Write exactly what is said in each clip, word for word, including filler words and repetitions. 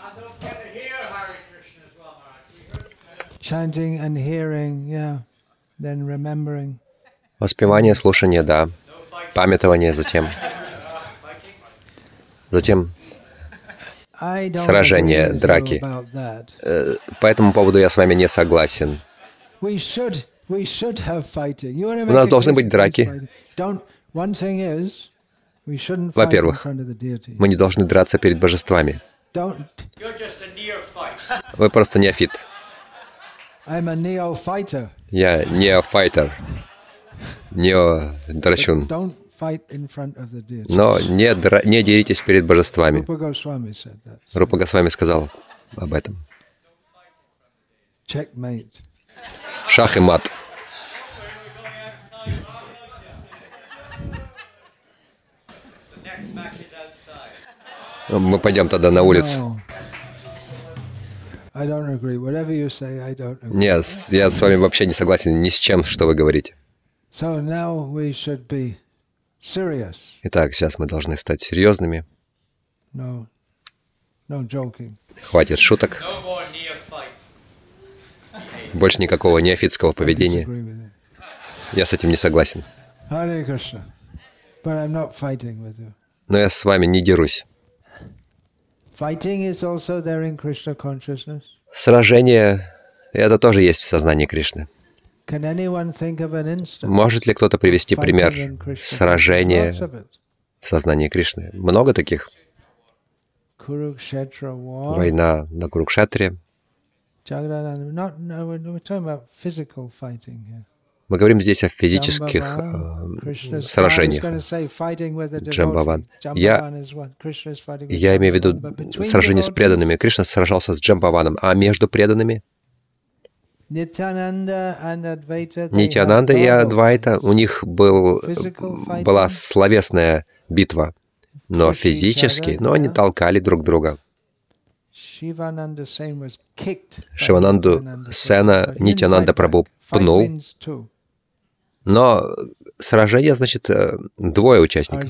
Воспевание, слушание, да. Памятование затем. Затем сражения, драки. По этому поводу я с вами не согласен. У нас должны быть драки. Во-первых, мы не должны драться перед божествами. Вы просто неофит. Я неофайтер. Нео-драчун. Но не, дра... не деритесь перед божествами. Рупа Госвами сказал об этом. Шах и мат. Мы пойдем тогда на улицу. Нет, я с вами вообще не согласен ни с чем, что вы говорите. Итак, сейчас мы должны стать серьезными. Хватит шуток. Больше никакого неофитского поведения. Я с этим не согласен. Но я с вами не дерусь. Сражение — это тоже есть в сознании Кришны. Может ли кто-то привести пример сражения в сознании Кришны? Много таких. Война на Курукшетре. Мы говорим здесь о физических э, сражениях. Джамбаван. Я, я имею в виду сражение с преданными. Кришна сражался с Джамбаваном. А между преданными? Нитьянанда и Адвайта, у них был, была словесная битва, но физически, но они толкали друг друга. Шивананду Сена Нитьянанда Прабху пнул, но сражение, значит, двое участников.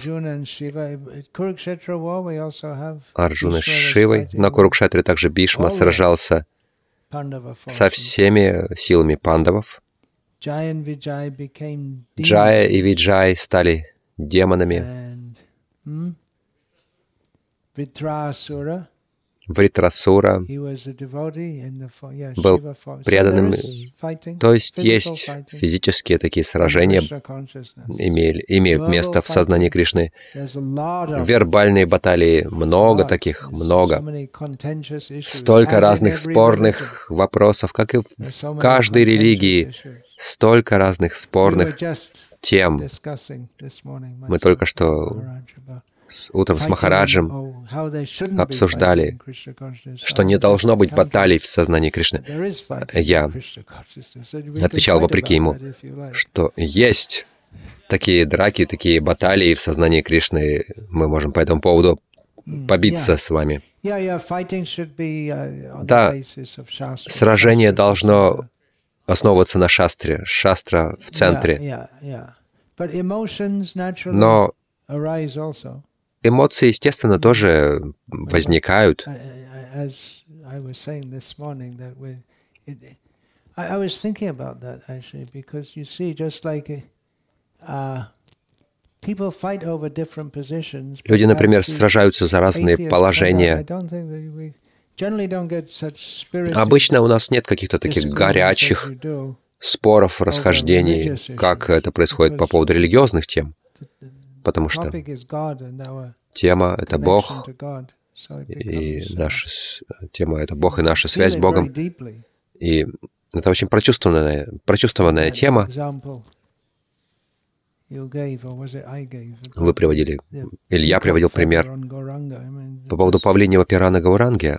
Арджуна с Шивой. На Курукшетре также Бишма сражался со всеми силами пандавов. Джая и Виджай стали демонами. Вритрасура был преданным, то есть есть физические такие сражения, имели, имеют место в сознании Кришны. Вербальные баталии, много таких, много. Столько разных спорных вопросов, как и в каждой религии, столько разных спорных тем. Мы только что утром с Махараджем обсуждали, что не должно быть баталий в сознании Кришны. Я отвечал вопреки ему, что есть такие драки, такие баталии в сознании Кришны. Мы можем по этому поводу побиться с вами. Да, сражение должно основываться на шастре, шастра в центре. Но эмоции, естественно, тоже возникают. Люди, например, сражаются за разные положения. Обычно у нас нет каких-то таких горячих споров, расхождений, как это происходит по поводу религиозных тем. Потому что тема — это Бог, и наша тема — это Бог и наша связь с Богом. И это очень прочувствованная, прочувствованная тема. Вы приводили, или я приводил пример по поводу павлиньего пера на Гауранге.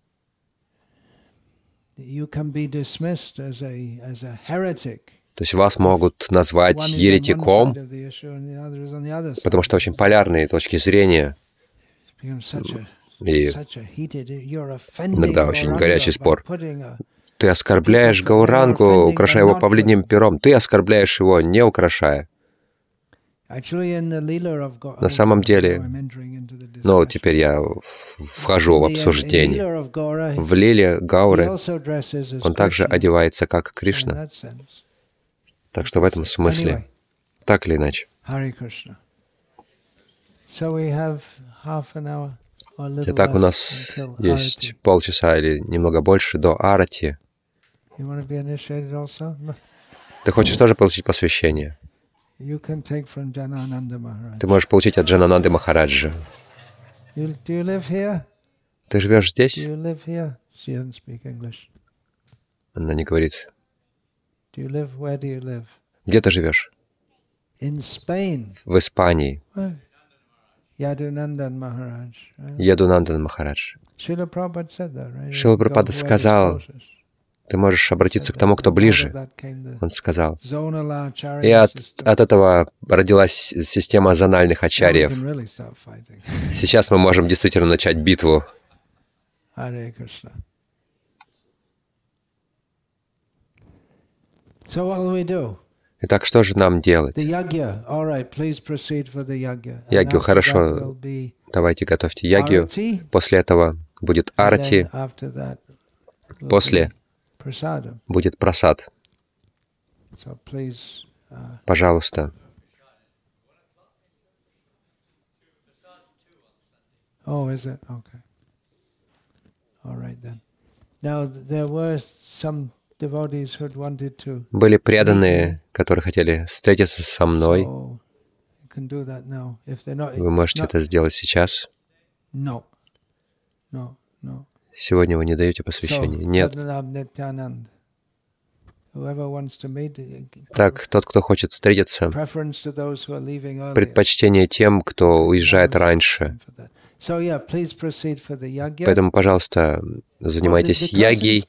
То есть вас могут назвать еретиком, потому что очень полярные точки зрения. И иногда очень горячий спор. Ты оскорбляешь Гаурангу, украшая его павлиньим пером. Ты оскорбляешь его, не украшая. На самом деле, ну, теперь я вхожу в обсуждение. В лиле Гауры он также одевается, как Кришна. Так что в этом смысле, так или иначе. Итак, у нас есть полчаса или немного больше до арати. Ты хочешь тоже получить посвящение? Ты можешь получить от Джанананды Махараджа. Ты живешь здесь? Она не говорит. Где ты живешь? В Испании. Ядунандан Махарадж. Шрила Прабхупада сказал, ты можешь обратиться к тому, кто ближе. Он сказал. И от, от этого родилась система зональных ачарьев. Сейчас мы можем действительно начать битву. Итак, что же нам делать? Ягью, хорошо. Давайте готовьте ягью. После этого будет арати. После будет прасад. Пожалуйста. Были преданные, которые хотели встретиться со мной. Вы можете это сделать сейчас. Сегодня вы не даете посвящение. Нет. Так, тот, кто хочет встретиться, предпочтение тем, кто уезжает раньше. Поэтому, пожалуйста, занимайтесь ягьей.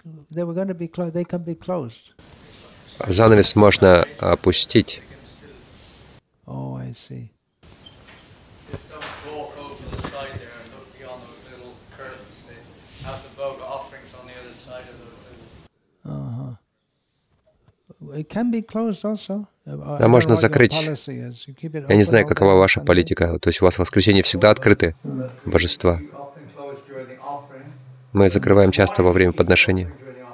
Занавес можно опустить. А можно закрыть. Я не знаю, какова ваша политика. То есть у вас в воскресенье всегда открыты божества. Мы закрываем часто во время подношения.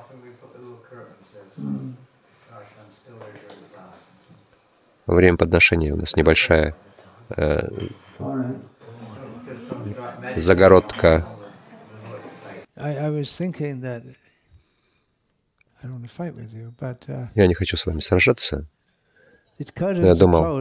Во время подношения у нас небольшая э, загородка. Я не хочу с вами сражаться. Я думал,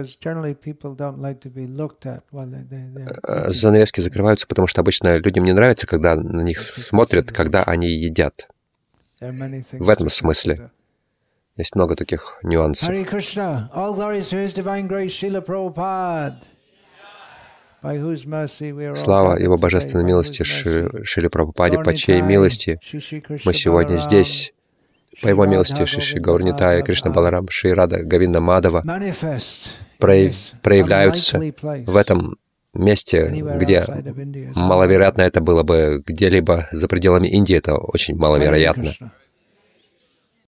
занавески закрываются, потому что обычно людям не нравится, когда на них смотрят, когда они едят. В этом смысле. Есть много таких нюансов. Слава Его Божественной милости Шриле Прабхупаде, по чьей милости мы сегодня здесь. По Его милости Шри Гаур Нитая, Кришна Баларам, Шри Рада Говинда Мадава проявляются в этом месте, где маловероятно это было бы где-либо за пределами Индии. Это очень маловероятно.